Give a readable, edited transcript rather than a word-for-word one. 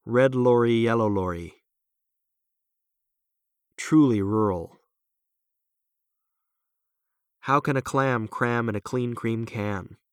Red lorry, yellow lorry. Truly rural. How can a clam cram in a clean cream can?